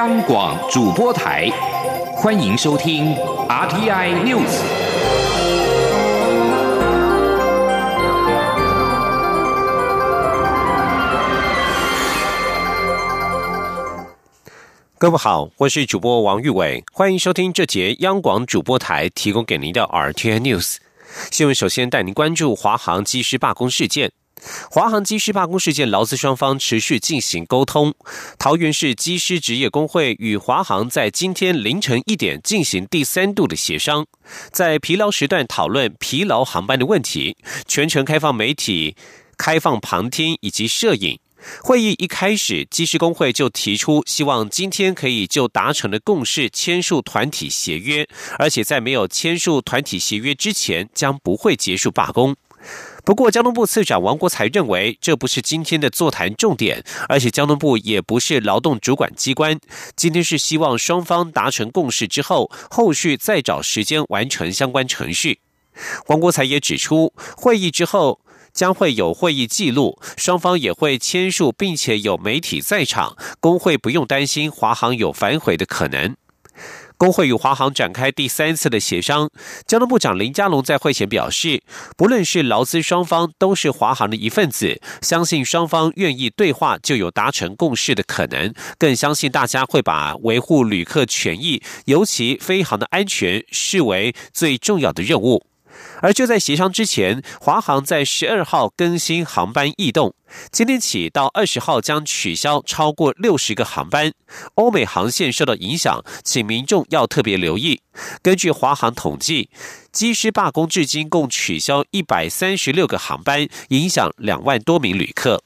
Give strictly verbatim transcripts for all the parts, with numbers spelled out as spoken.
央广主播台，欢迎收听 R T I News。 各位好，我是主播王玉伟，欢迎收听这节央广主播台提供给您的 R T I News 新闻。首先带您关注华航机师罢工事件。华航机师罢工事件，劳资双方持续进行沟通。桃园市机师职业工会与华航在今天凌晨一点进行第三度的协商，在疲劳时段讨论疲劳航班的问题，全程开放媒体开放旁听以及摄影。会议一开始，机师工会就提出希望今天可以就达成的共识签署团体协约，而且在没有签署团体协约之前将不会结束罢工。不过交通部次长王国材认为，这不是今天的座谈重点，而且交通部也不是劳动主管机关，今天是希望双方达成共识之后，后续再找时间完成相关程序。王国材也指出，会议之后将会有会议记录，双方也会签署，并且有媒体在场，工会不用担心华航有反悔的可能。工会与华航展开第三次的协商，交通部长林佳龙在会前表示，不论是劳资双方都是华航的一份子，相信双方愿意对话就有达成共识的可能，更相信大家会把维护旅客权益，尤其飞航的安全视为最重要的任务。而就在协商之前，华航在十二号更新航班异动，今天起到二十号将取消超过六十个航班，欧美航线受到影响，请民众要特别留意。根据华航统计，机师罢工至今共取消一百三十六个航班，影响两万多名旅客。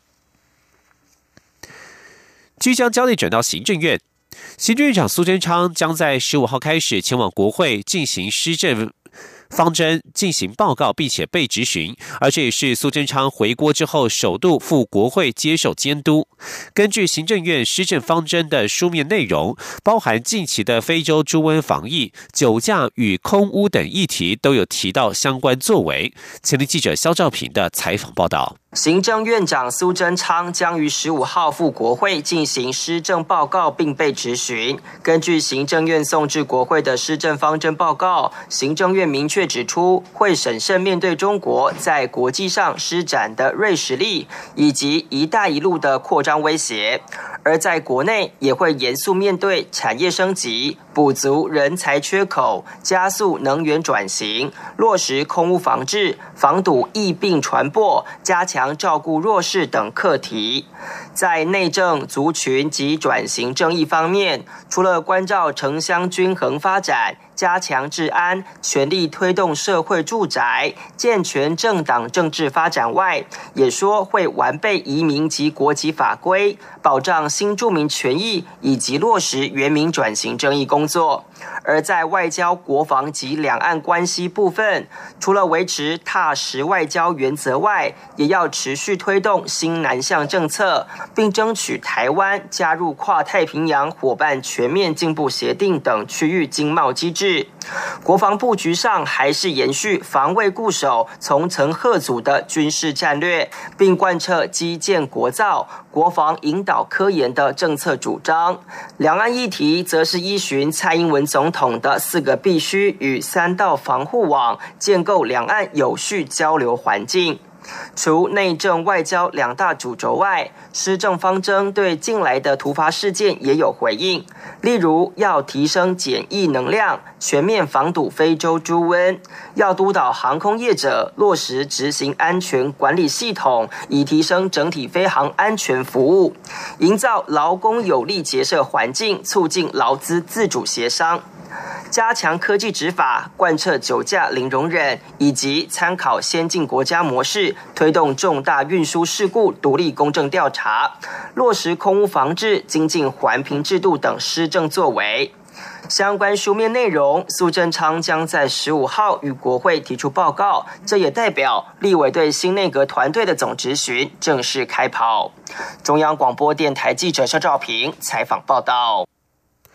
即将焦点转到行政院，行政院长苏贞昌将在十五号开始前往国会进行施政方针进行报告，并且被质询，而这也是苏贞昌回国之后首度赴国会接受监督。根据行政院施政方针的书面内容，包含近期的非洲猪瘟防疫、酒驾与空污等议题都有提到相关作为。前天记者肖兆平的采访报道。 行政院长苏贞昌将于十五号赴国会进行施政报告，并被质询。根据行政院送至国会的施政方针报告，行政院明确指出，会审慎面对中国在国际上施展的锐实力，以及“一带一路”的扩张威胁；而在国内，也会严肃面对产业升级、补足人才缺口、加速能源转型、落实空污防治、防堵疫病传播、加强照顾弱势等课题。在内政、族群及转型正义方面，除了关照城乡均衡发展、加强治安、全力推动社会住宅、健全政党政治发展外，也说会完备移民及国籍法规，保障新住民权益，以及落实原民转型正义工作。而在外交、国防及两岸关系部分，除了维持踏实外交原则外，也要持续推动新南向政策，并争取台湾加入跨太平洋伙伴全面进步协定等区域经贸机制。国防布局上还是延续防卫固守、从层吓阻的军事战略，并贯彻基建国造、国防引导科研的政策主张。两岸议题则是依循蔡英文总统的四个必须与三道防护网，建构两岸有序交流环境。除内政外交两大主轴外，施政方针对近来的突发事件也有回应，例如要提升检疫能量，全面防堵非洲猪瘟，要督导航空业者落实执行安全管理系统，以提升整体飞航安全服务，营造劳工有利结社环境，促进劳资自主协商。加强科技执法，贯彻酒驾零容忍，以及参考先进国家模式，推动重大运输事故独立公正调查，落实空污防治、精进环评制度等施政作为。相关书面内容，苏贞昌将在十五号与国会提出报告，这也代表立委对新内阁团队的总质询正式开跑。中央广播电台记者肖兆平采访报道。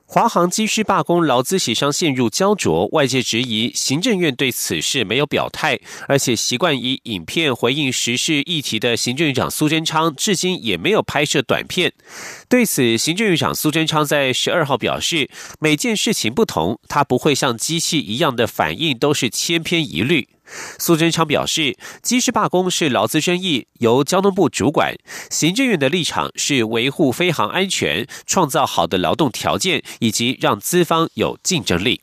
华航机师罢工，劳资协商陷入焦灼，外界质疑行政院对此事没有表态，而且习惯以影片回应时事议题的行政院长苏贞昌，至今也没有拍摄短片。对此，行政院长苏贞昌在十二号表示，每件事情不同，他不会像机器一样的反应都是千篇一律。苏贞昌表示，机师罢工是劳资争议，由交通部主管，行政院的立场是维护飞航安全，创造好的劳动条件，以及让资方有竞争力。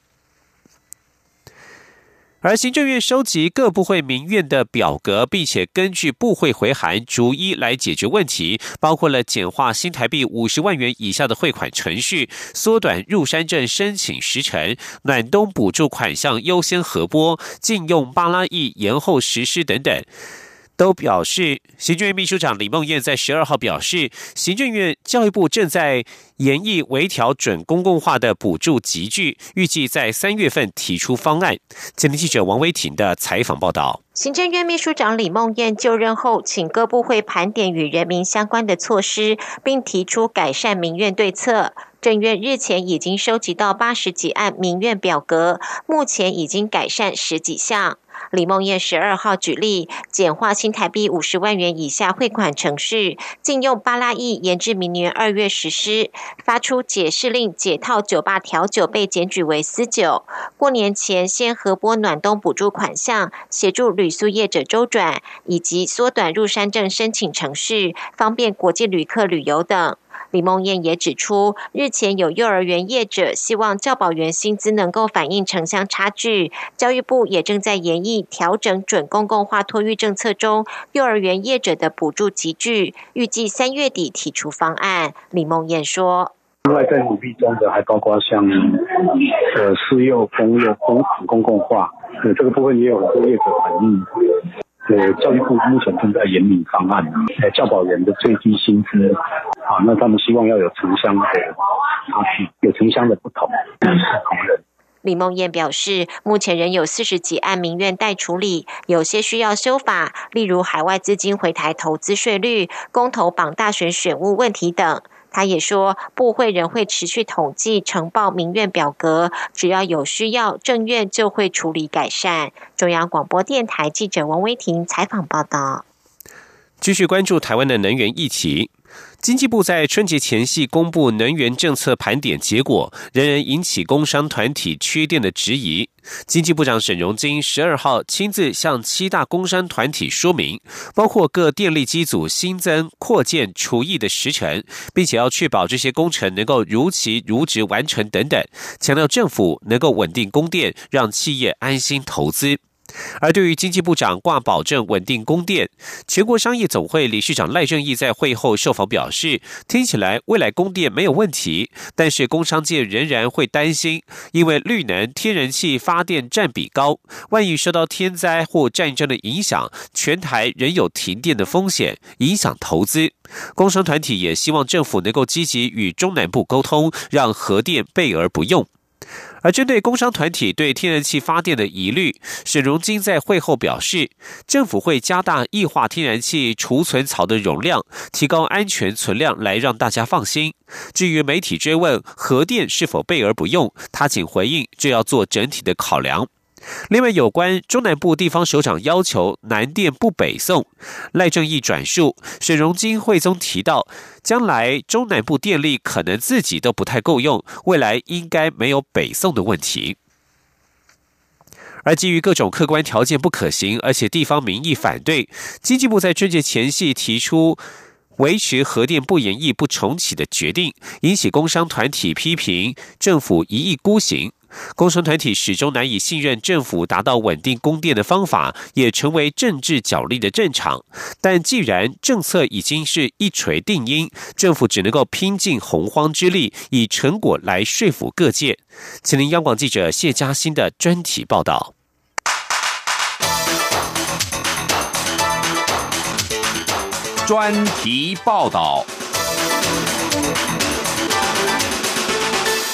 而行政院收集各部会民怨的表格，并且根据部会回函逐一来解决问题，包括了简化新台币五十万元以下的汇款程序，缩短入山证申请时程，暖冬补助款项优先核拨，禁用巴拉益延后实施等等。都表示，行政院秘书长李孟燕在十二号表示，行政院教育部正在研议微调准公共化的补助集聚，预计在三月份提出方案。前天记者王威婷的采访报道。 行政院秘书长李孟燕就任后，请各部会盘点与人民相关的措施，并提出改善民怨对策。政院日前已经收集到八十几案民怨表格，目前已经改善十几项。李孟燕十二号举例，简化新台币五十万元以下汇款程序，禁用巴拉益延至明年二月实施，发出解释令解套酒吧调酒被检举为私酒，过年前先核拨暖冬补助款项，协助旅宿业者周转，以及缩短入山证申请程序，方便国际旅客旅游等。李孟燕也指出，日前有幼儿园业者希望教保员薪资能够反映城乡差距，教育部也正在研议调整准公共化托育政策中幼儿园业者的补助集聚，预计三月底提出方案。李孟燕说， 另外在努力中的还包括像呃私幼、公幼、公公共化，呃这个部分也有很多业者反映。呃，教育部目前正在研拟方案，呃，教保员的最低薪资，啊，那他们希望要有城乡的差距，有城乡的不同，是同仁。 李孟燕表示，目前仍有四十几案民怨待处理，有些需要修法，例如海外资金回台投资税率、公投绑大选选务问题等。他也说，部会仍会持续统计呈报民怨表格，只要有需要，政院就会处理改善。中央广播电台记者王威婷采访报道。 继续关注台湾的能源议题。经济部在春节前夕公布能源政策盘点结果，仍然引起工商团体缺电的质疑。经济部长沈荣津十二号亲自向七大工商团体说明，包括各电力机组新增、扩建、除役的时程，并且要确保这些工程能够如期如职完成等等，强调政府能够稳定供电，让企业安心投资。而对于经济部长挂保证稳定供电，全国商业总会理事长赖正鎰在会后受访表示，听起来未来供电没有问题，但是工商界仍然会担心，因为绿能天然气发电占比高，万一受到天灾或战争的影响，全台仍有停电的风险，影响投资。工商团体也希望政府能够积极与中南部沟通，让核电备而不用。而针对工商团体对天然气发电的疑虑，沈荣津在会后表示，政府会加大液化天然气储存槽的容量，提高安全存量来让大家放心。至于媒体追问核电是否备而不用，他仅回应这要做整体的考量。另外，有关中南部地方首长要求南电不北送，赖正鎰转述沈荣津会中提到，将来中南部电力可能自己都不太够用，未来应该没有北送的问题。而基于各种客观条件不可行，而且地方民意反对，经济部在春节前夕提出维持核电不延役不重启的决定，引起工商团体批评政府一意孤行。工商团体始终难以信任政府达到稳定供电的方法，也成为政治角力的战场。但既然政策已经是一锤定音，政府只能够拼尽洪荒之力，以成果来说服各界。请听央广记者谢嘉欣的专题报道。 专题报道。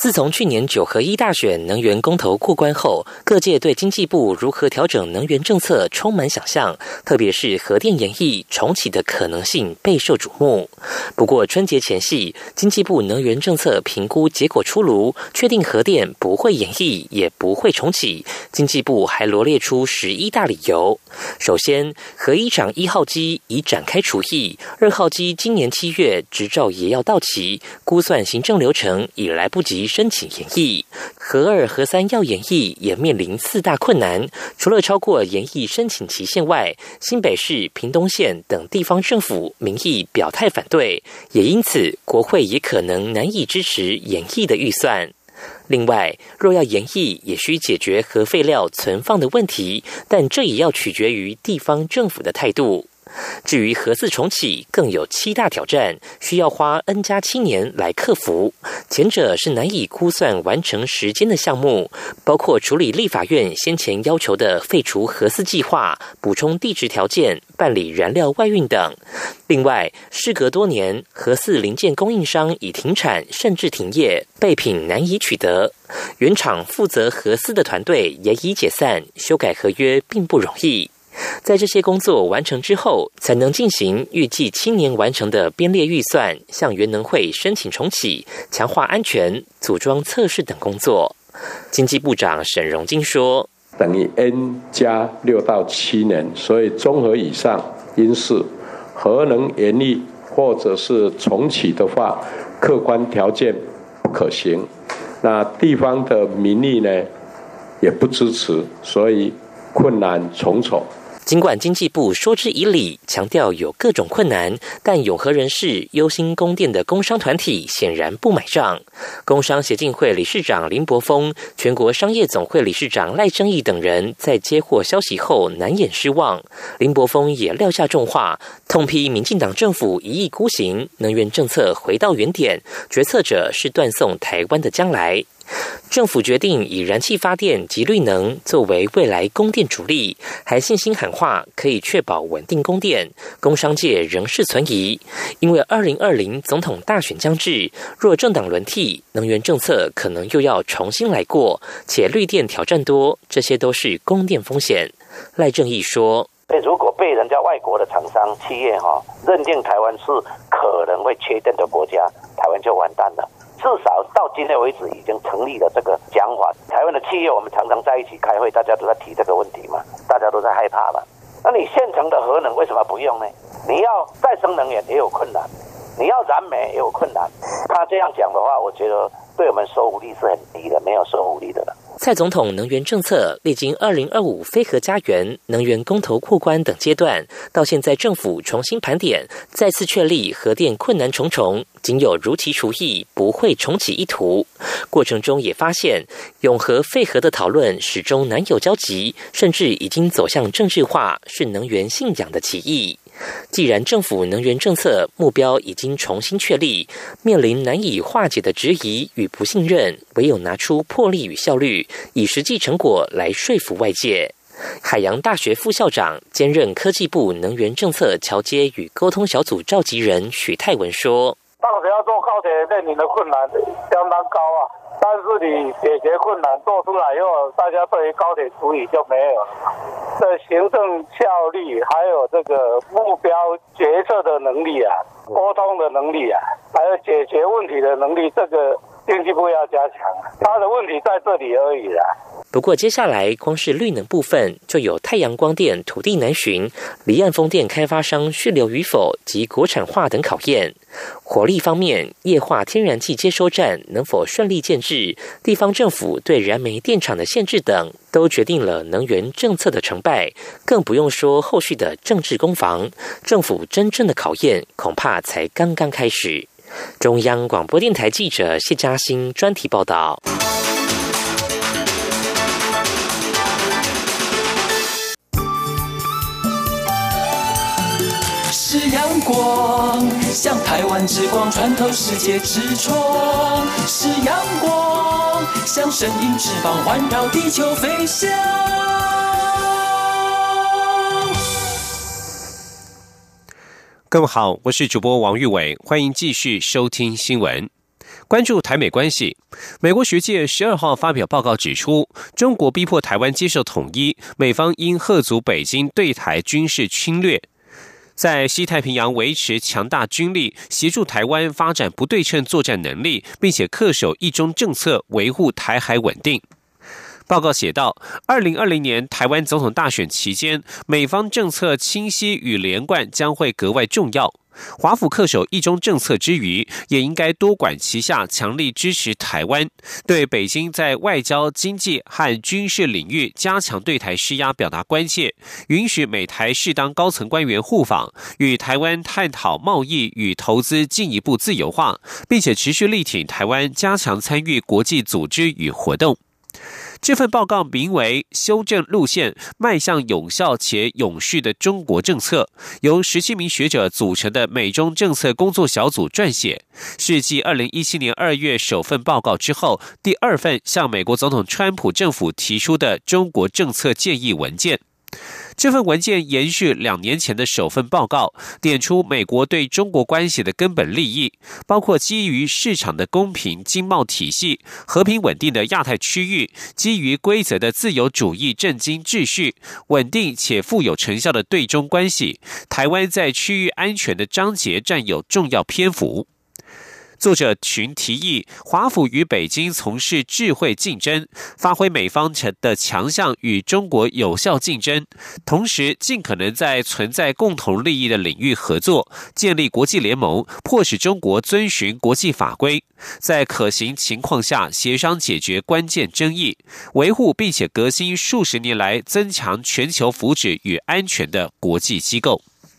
自从去年九合一大选能源公投过关后，各界对经济部如何调整能源政策充满想象，特别是核电延役重启的可能性备受瞩目。不过春节前夕，经济部能源政策评估结果出炉，确定核电不会延役，也不会重启。经济部还罗列出十一大理由。首先，核一厂一号机已展开除役，二号机今年七月执照也要到期，估算行政流程已来不及申请延役。核二、核三要延役也面临四大困难，除了超过延役申请期限外，新北市、屏东县等地方政府民意表态反对，也因此国会也可能难以支持延役的预算。另外，若要延役，也需解决核废料存放的问题，但这也要取决于地方政府的态度。至于核四重启，更有七大挑战，需要花 N 加七年来克服。前者是难以估算完成时间的项目，包括处理立法院先前要求的废除核四计划、补充地质条件、办理燃料外运等。另外，事隔多年，核四零件供应商已停产甚至停业，备品难以取得。原厂负责核四的团队也已解散，修改合约并不容易。在这些工作完成之后，才能进行预计七年完成的编列预算，向原能会申请重启，强化安全、组装测试等工作。经济部长沈荣金说， 等于 N 加六到七年，所以综合以上因素，核能延役或者是重启的话，客观条件不可行。那地方的民意呢，也不支持，所以困难重重。 尽管经济部说之以理，强调有各种困难，但永和人士忧心供电的工商团体显然不买账。工商协进会理事长林柏峰、全国商业总会理事长赖正义等人在接获消息后难掩失望。林柏峰也撂下重话，痛批民进党政府一意孤行，能源政策回到原点，决策者是断送台湾的将来。政府决定以燃气发电及绿能作为未来供电主力，还信心喊话可以确保稳定供电，工商界仍是存疑。因为二零二零总统大选将至，若政党轮替，能源政策可能又要重新来过，且绿电挑战多，这些都是供电风险。赖正义说， 如果被人家外国的厂商企业哈认定台湾是可能会缺电的国家，台湾就完蛋了。至少到今天为止已经成立了这个讲法。台湾的企业我们常常在一起开会，大家都在提这个问题嘛，大家都在害怕嘛。那你现成的核能为什么不用呢？你要再生能源也有困难，你要燃煤也有困难。他这样讲的话，我觉得对我们说服力是很低的，没有说服力的了。 蔡总统能源政策历经二零二五非核家园、能源公投过关等阶段，到现在政府重新盘点，再次确立核电困难重重，仅有如期除役，不会重启一途。过程中也发现，永核废核的讨论始终难有交集，甚至已经走向政治化，是能源信仰的歧义。既然政府能源政策目标已经重新确立，面临难以化解的质疑与不信任，唯有拿出魄力与效率，以实际成果来说服外界。海洋大学副校长兼任科技部能源政策桥接与沟通小组召集人许泰文说， 当时要做高铁面临的困难相当高啊，但是你解决困难做出来以后，大家对于高铁处理就没有了。这行政效率，还有这个目标决策的能力啊，沟通的能力啊，还有解决问题的能力，这个经济部要加强。他的问题在这里而已啦。 不过接下来光是绿能部分，就有太阳光电土地难寻、离岸风电开发商续留与否及国产化等考验。火力方面，液化天然气接收站能否顺利建制，地方政府对燃煤电厂的限制等，都决定了能源政策的成败。更不用说后续的政治攻防，政府真正的考验恐怕才刚刚开始。中央广播电台记者谢嘉欣专题报道。 是阳光，像台湾之光穿透世界之窗；是阳光，像神鹰翅膀环绕地球飞翔。 各位好，我是主播王玉伟，欢迎继续收听新闻。 关注台美关系，美国学界十二号发表报告指出，中国逼迫台湾接受统一，美方应吓阻北京对台军事侵略，在西太平洋维持强大军力，协助台湾发展不对称作战能力，并且恪守一中政策，维护台海稳定。报告写道，二零二零年台湾总统大选期间，美方政策清晰与连贯将会格外重要。华府恪守一中政策之余，也应该多管齐下，强力支持台湾，对北京在外交、经济和军事领域加强对台施压表达关切，允许美台适当高层官员互访，与台湾探讨贸易与投资进一步自由化，并且持续力挺台湾加强参与国际组织与活动。这份报告名为《修正路线，迈向有效且永续的中国政策》，由十七名学者组成的美中政策工作小组撰写，是继二零一七年二月首份报告之后，第二份向美国总统川普政府提出的中国政策建议文件。这份文件延续两年前的首份报告，点出美国对中国关系的根本利益，包括基于市场的公平经贸体系、和平稳定的亚太区域、基于规则的自由主义政经秩序、稳定且富有成效的对中关系。台湾在区域安全的章节占有重要篇幅。作者群提议，华府与北京从事智慧竞争，发挥美方的强项与中国有效竞争，同时尽可能在存在共同利益的领域合作，建立国际联盟，迫使中国遵循国际法规，在可行情况下协商解决关键争议，维护并且革新数十年来增强全球福祉与安全的国际机构。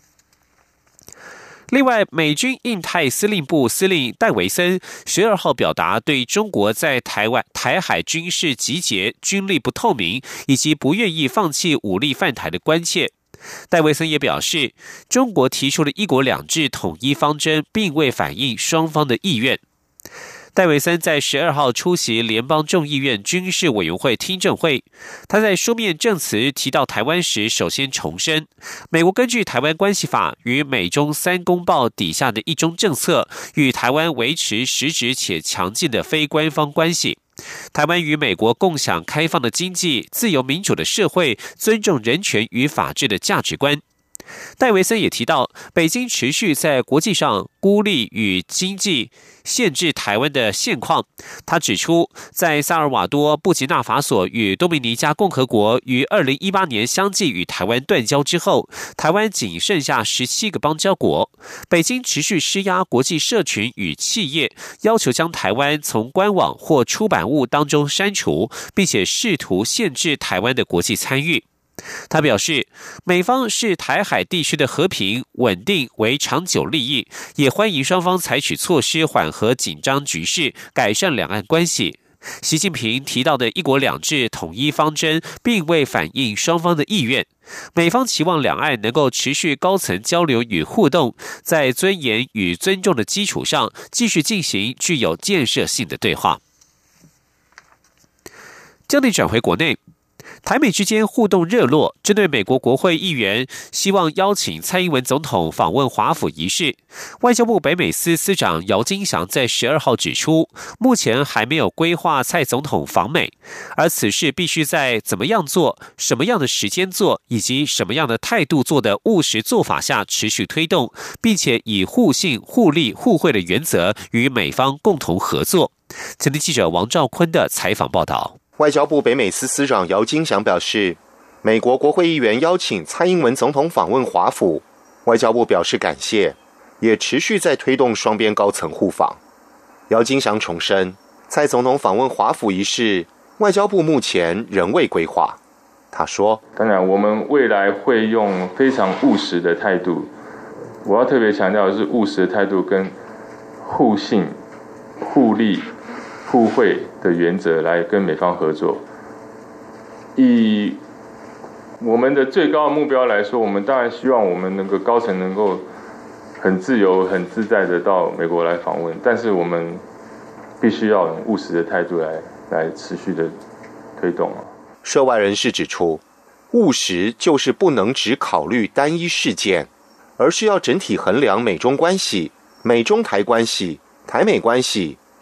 另外，美军印太司令部司令戴维森十二号表达对中国在台湾台海军事集结、军力不透明以及不愿意放弃武力犯台的关切。戴维森也表示，中国提出的一国两制统一方针并未反映双方的意愿。戴维森在十二号出席联邦众议院军事委员会听证会，他在书面证词提到台湾时，首先重申，美国根据台湾关系法与美中三公报底下的一中政策，与台湾维持实质且强劲的非官方关系。台湾与美国共享开放的经济、自由民主的社会、尊重人权与法治的价值观。戴维森也提到，北京持续在国际上孤立与经济限制台湾的现况。他指出，在萨尔瓦多、布吉纳法索与多米尼加共和国于二零一八年相继与台湾断交之后，台湾仅剩下十七个邦交国。北京持续施压国际社群与企业，要求将台湾从官网或出版物当中删除，并且试图限制台湾的国际参与。他表示，美方视台海地区的和平稳定为长久利益，也欢迎双方采取措施缓和紧张局势，改善两岸关系。习近平提到的一国两制统一方针并未反映双方的意愿，美方期望两岸能够持续高层交流与互动，在尊严与尊重的基础上，继续进行具有建设性的对话。焦点转回国内，台美之间互动热络，针对美国国会议员希望邀请蔡英文总统访问华府一事，外交部北美司司长姚金祥在十二号指出，目前还没有规划蔡总统访美，而此事必须在怎么样做、什么样的时间做，以及什么样的态度做的务实做法下持续推动，并且以互信、互利、互惠的原则与美方共同合作。前天记者王兆坤的采访报道。 外交部北美司司长姚金祥表示，美国国会议员邀请蔡英文总统访问华府，外交部表示感谢，也持续在推动双边高层互访。姚金祥重申，蔡总统访问华府一事，外交部目前仍未规划。他说， 当然我们未来会用非常务实的态度，我要特别强调的是务实的态度跟互信、互利、互惠的原则来跟美方合作。以我们的最高的目标来说，我们当然希望我们能够高层能够很自由、很自在的到美国来访问，但是我们必须要用务实的态度来来持续的推动。 涉外人士指出，务实就是不能只考虑单一事件，而是要整体衡量美中关系、美中台关系、台美关系、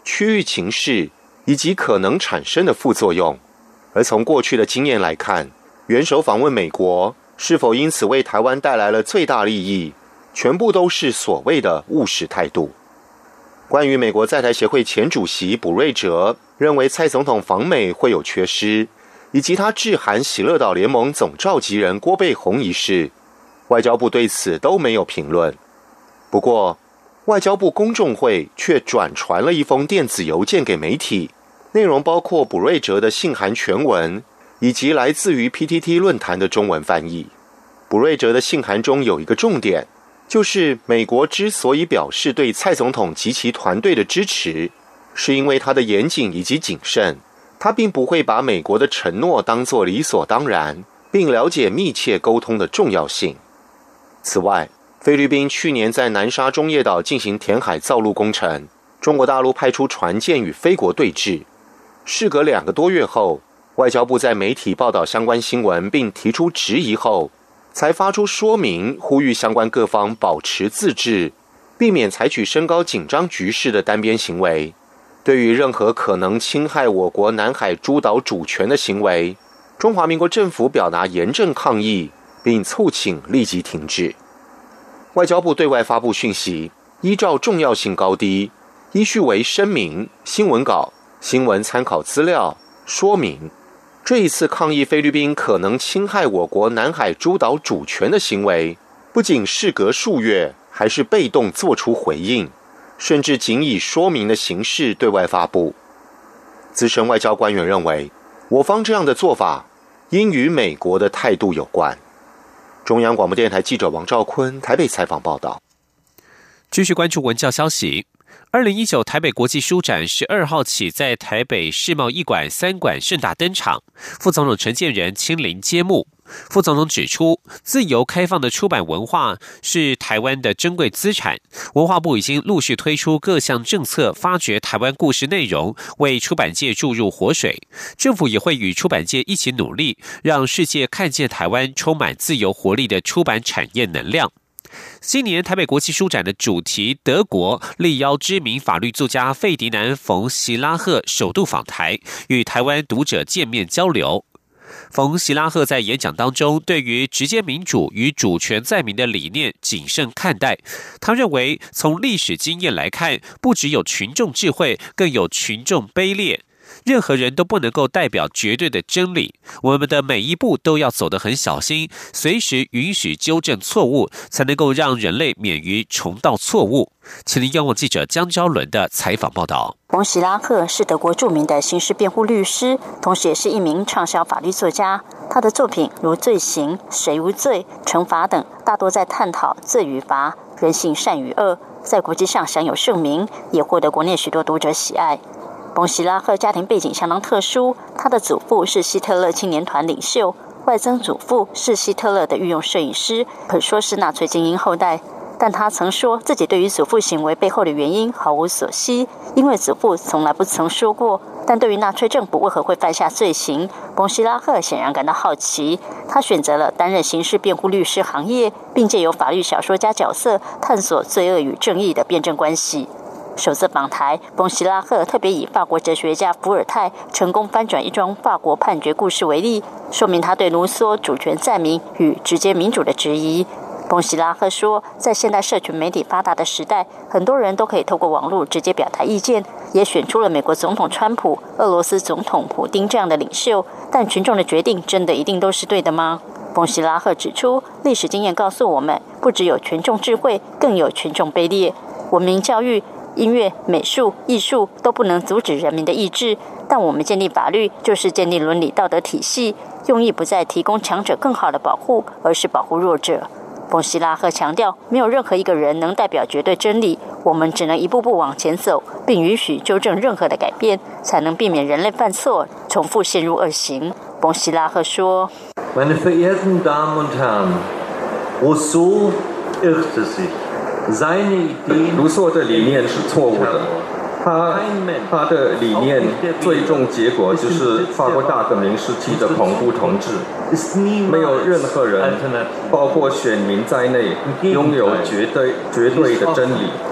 区域情势以及可能产生的副作用。而从过去的经验来看，元首访问美国是否因此为台湾带来了最大利益，全部都是所谓的务实态度。关于美国在台协会前主席卜瑞哲认为蔡总统访美会有缺失，以及他致函喜乐岛联盟总召集人郭背红一事，外交部对此都没有评论。不过外交部公众会却转传了一封电子邮件给媒体，内容包括卜瑞哲的信函全文，以及来自于 P T T 论坛的中文翻译。卜瑞哲的信函中有一个重点，就是美国之所以表示对蔡总统及其团队的支持，是因为他的严谨以及谨慎，他并不会把美国的承诺当作理所当然，并了解密切沟通的重要性。此外，菲律宾去年在南沙中业岛进行填海造陆工程，中国大陆派出船舰与菲国对峙。事隔两个多月后，外交部在媒体报道相关新闻并提出质疑后，才发出说明，呼吁相关各方保持自治，避免采取升高紧张局势的单边行为。对于任何可能侵害我国南海诸岛主权的行为，中华民国政府表达严正抗议，并促请立即停止。外交部对外发布讯息，依照重要性高低，依序为声明、新闻稿、新闻参考资料、说明。这一次抗议菲律宾可能侵害我国南海诸岛主权的行为，不仅事隔数月，还是被动做出回应，甚至仅以说明的形式对外发布。资深外交官员认为，我方这样的做法应与美国的态度有关。中央广播电台记者王兆坤台北采访报道。 继续关注文教消息。二零一九台北国际书展十二号起在台北世贸一馆三馆盛大登场，副总统陈建仁亲临揭幕。副总统指出，自由开放的出版文化是台湾的珍贵资产，文化部已经陆续推出各项政策，发掘台湾故事内容，为出版界注入活水。政府也会与出版界一起努力，让世界看见台湾充满自由活力的出版产业能量。今年台北国际书展的主题德国，力邀知名法律作家费迪南·冯·席拉赫首度访台，与台湾读者见面交流。冯·席拉赫在演讲当中，对于直接民主与主权在民的理念谨慎看待。他认为，从历史经验来看，不只有群众智慧，更有群众卑劣。任何人都不能够代表绝对的真理，我们的每一步都要走得很小心，随时允许纠正错误，才能够让人类免于重蹈错误。请您央广记者江昭伦的采访报道。 冯·席拉赫是德国著名的刑事辩护律师，同时也是一名畅销法律作家。他的作品如《罪行》《谁无罪》《惩罚》等，大多在探讨罪与罚、人性善与恶，在国际上享有盛名，也获得国内许多读者喜爱。冯·席拉赫家庭背景相当特殊，他的祖父是希特勒青年团领袖，外曾祖父是希特勒的御用摄影师，可说是纳粹精英后代。但他曾说自己对于祖父行为背后的原因毫无所悉，因为祖父从来不曾说过。但对于纳粹政府为何会犯下罪行，冯·席拉赫显然感到好奇。他选择了担任刑事辩护律师行业，并借由法律小说家角色探索罪恶与正义的辩证关系。首次访台，冯·席拉赫特别以法国哲学家伏尔泰成功翻转一桩法国判决故事为例，说明他对卢梭主权在民与直接民主的质疑。冯·席拉赫说，在现代社群媒体发达的时代，很多人都可以透过网络直接表达意见，也选出了美国总统川普、俄罗斯总统普丁这样的领袖，但群众的决定真的一定都是对的吗？冯·席拉赫指出，历史经验告诉我们，不只有群众智慧，更有群众卑劣。文明教育、音乐、美术、艺术都不能阻止人民的意志，但我们建立法律就是建立伦理道德体系，用意不再提供强者更好的保护，而是保护弱者。冯·席拉赫强调，没有任何一个人能代表绝对真理，我们只能一步步往前走，并允许纠正任何的改变，才能避免人类犯错，重复陷入恶行。冯·席拉赫说 Meine verehrten Damen und Herren, Rousseau irrte sich. 卢梭的理念是错误的，他他的理念最终结果就是法国大革命时期的恐怖统治，没有任何人，包括选民在内，拥有绝对绝对的真理。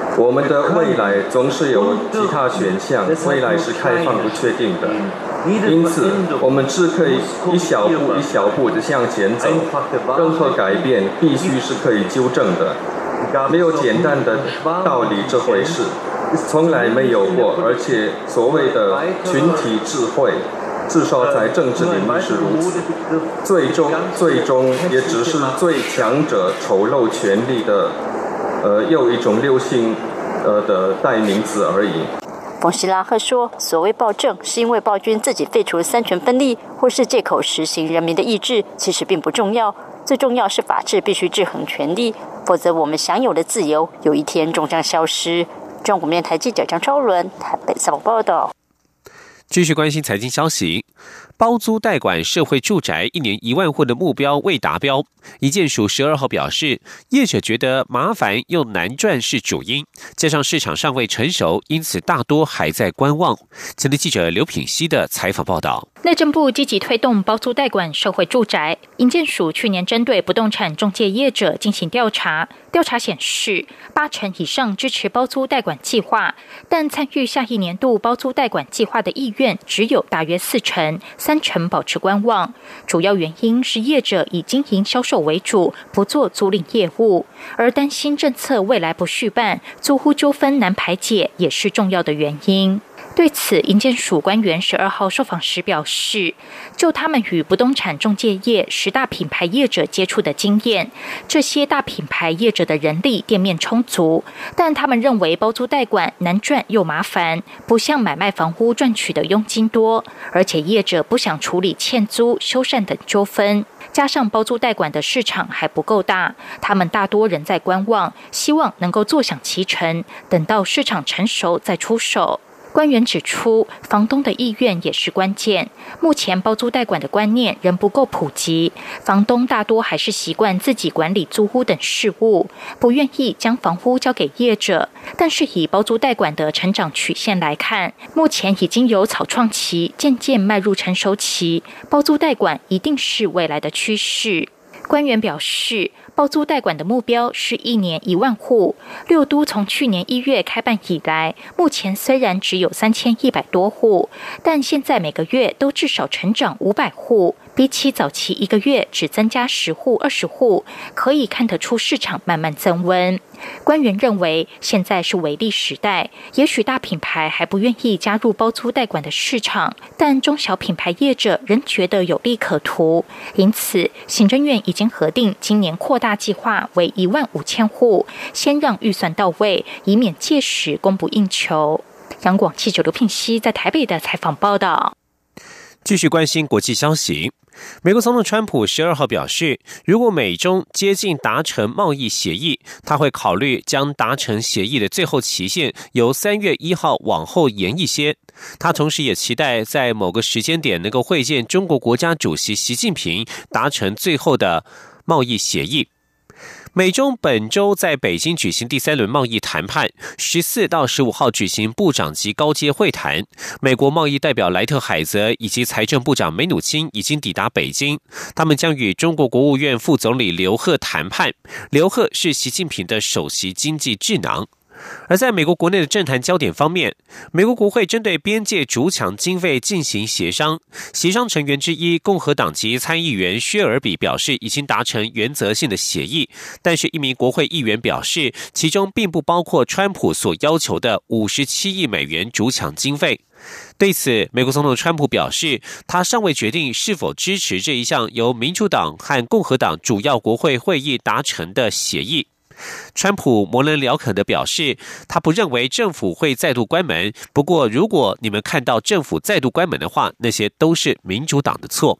我们的未来总是有其他选项，未来是开放不确定的，因此我们只可以一小步一小步地向前走，任何改变必须是可以纠正的，没有简单的道理这回事，从来没有过，而且所谓的群体智慧至少在政治领域是如此，最终最终也只是最强者丑陋权力的呃又一种流行呃的代名词而已。 冯希拉赫说，所谓暴政是因为暴君自己废除三权分立，或是借口实行人民的意志，其实并不重要，最重要是法治必须制衡权力，否则我们享有的自由有一天终将消失。中国电台记者张超伦台北采访报道。 继续关心财经消息，包租代管社会住宅一年一万户的目标未达标。营建署十二号表示，业者觉得麻烦又难赚是主因，加上市场尚未成熟，因此大多还在观望。前天记者刘品希的采访报道。 内政部积极推动包租代管社会住宅，营建署去年针对不动产中介业者进行调查，调查显示，八成以上支持包租代管计划，但参与下一年度包租代管计划的意愿只有大约四成，三成保持观望。主要原因是业者以经营销售为主，不做租赁业务，而担心政策未来不续办，租户纠纷难排解，也是重要的原因。对此，营建署官员十二号受访时表示，就他们与不动产中介业十大品牌业者接触的经验，这些大品牌业者的人力店面充足，但他们认为包租代管难赚又麻烦，不像买卖房屋赚取的佣金多，而且业者不想处理欠租、修缮等纠纷，加上包租代管的市场还不够大，他们大多仍在观望，希望能够坐享其成，等到市场成熟再出手。官员指出，房东的意愿也是关键。目前包租代管的观念仍不够普及，房东大多还是习惯自己管理租屋等事务，不愿意将房屋交给业者。但是以包租代管的成长曲线来看，目前已经有草创期，渐渐迈入成熟期，包租代管一定是未来的趋势。官员表示，包租代管的目标是一年一万户。六都从去年一月开办以来，目前虽然只有三千一百多户，但现在每个月都至少成长五百户，比起早期一个月只增加十户、二十户，可以看得出市场慢慢增温。官员认为，现在是微利时代，也许大品牌还不愿意加入包租代管的市场，但中小品牌业者仍觉得有利可图。因此，行政院已经核定今年扩大计划为一万五千户，先让预算到位，以免届时供不应求。央广记者刘聘熙在台北的采访报道。 继续关心国际消息。美国总统川普十二号表示，如果美中接近达成贸易协议，他会考虑将达成协议的最后期限由三月一号往后延一些。他同时也期待在某个时间点能够会见中国国家主席习近平，达成最后的贸易协议。美中本周在北京举行第三轮贸易谈判，十四到十五号举行部长级高阶会谈。美国贸易代表莱特海泽以及财政部长梅努钦已经抵达北京，他们将与中国国务院副总理刘鹤谈判。刘鹤是习近平的首席经济智囊。而在美国国内的政坛焦点方面，美国国会针对边界筑墙经费进行协商，协商成员之一共和党籍参议员薛尔比表示已经达成原则性的协议，但是一名国会议员表示，其中并不包括川普所要求的五十七亿美元筑墙经费。对此，美国总统川普表示，他尚未决定是否支持这一项由民主党和共和党主要国会会议达成的协议。川普模棱两可地表示，他不认为政府会再度关门，不过如果你们看到政府再度关门的话，那些都是民主党的错。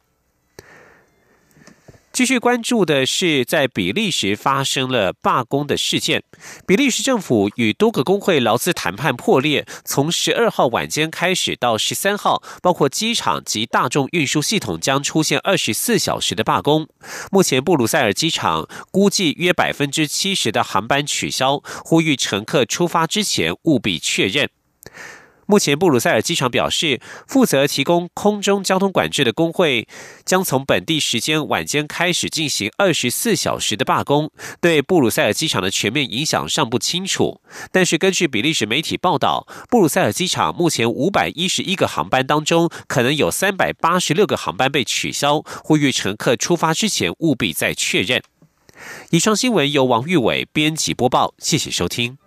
继续关注的是，在比利时发生了罢工的事件。比利时政府与多个工会劳资谈判破裂，从十二号晚间开始到十三号，包括机场及大众运输系统将出现二十四小时的罢工。目前布鲁塞尔机场估计约 百分之七十 的航班取消，呼吁乘客出发之前务必确认。 目前布鲁塞尔机场表示，负责提供空中交通管制的工会将从本地时间晚间开始进行二十四小时的罢工，对布鲁塞尔机场的全面影响尚不清楚。但是根据比利时媒体报道，布鲁塞尔机场目前五百一十一个航班当中，可能有三百八十六个航班被取消，呼吁乘客出发之前务必再确认。以上新闻由王玉伟编辑播报，谢谢收听。